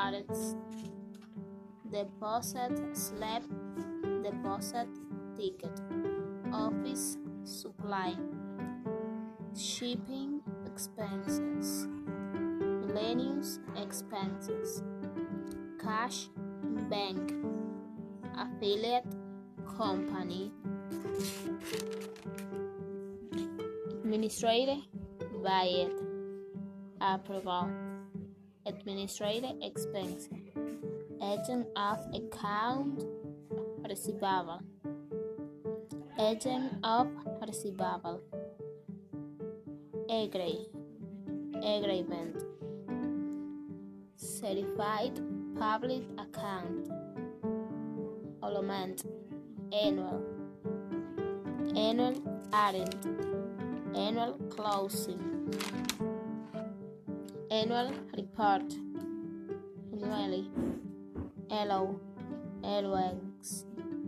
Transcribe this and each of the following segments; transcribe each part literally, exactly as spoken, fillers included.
arrest, deposit slip, deposit ticket, office supply, shipping expenses, miscellaneous expenses, cash bank, affiliate company, administrative budget, approval, administrative expense, agent of account receivable, agent of receivable, agree, agreement, certified public account, element, annual, annual audit, annual closing, annual report, annually, L O, L X,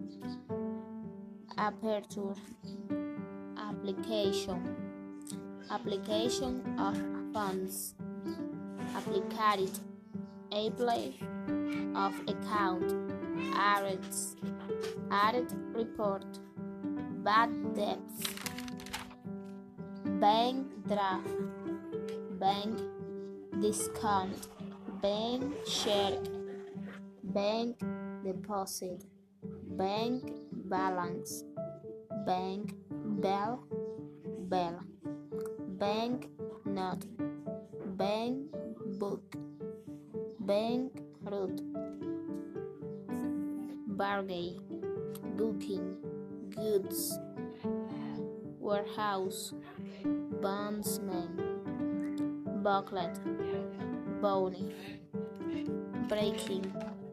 aperture, application, application of funds, applicate, apply of account, arrests, audit report, bad debts, bank draft, bank discount, bank share, bank deposit, bank balance, bank bill, bill, bank note, bank book, bank route, bargain, booking, goods, warehouse, bondsman, booklet, bounty, breaking,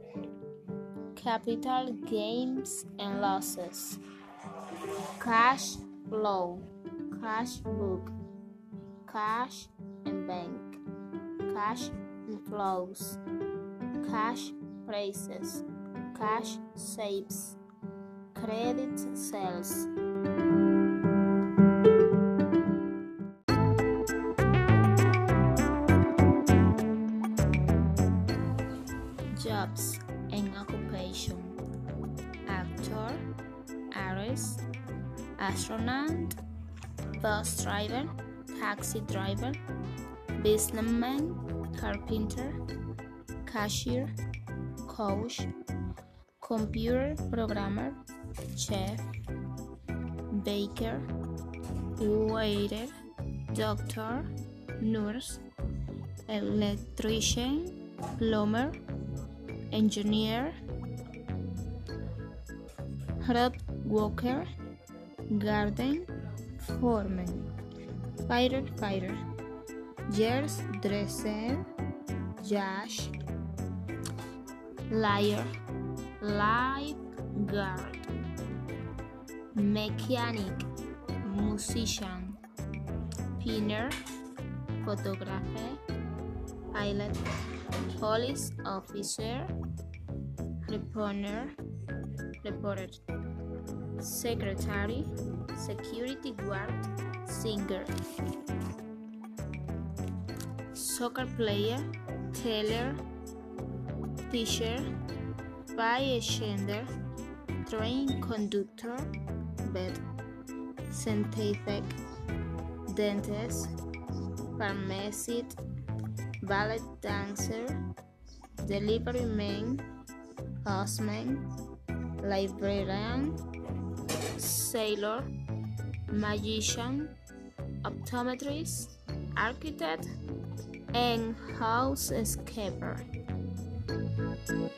capital gains and losses, cash flow, cash book, cash and bank, cash inflows, cash prices, cash saves, credit sales. Jobs and occupation: actor, artist, astronaut, bus driver, taxi driver, businessman, carpenter, cashier, coach, computer programmer, chef, baker, waiter, doctor, nurse, electrician, plumber, engineer, road worker, garden foreman, firefighter, jazz dresser, judge, liar, lifeguard, mechanic, musician, pinner, photographer, pilot, police officer, reporter, reporter, secretary, security guard, singer, soccer player, tailor, teacher, bystander, train conductor, vet, scientific, dentist, pharmacist, ballet dancer, delivery man, postman, librarian, sailor, magician, optometrist, architect, and housekeeper.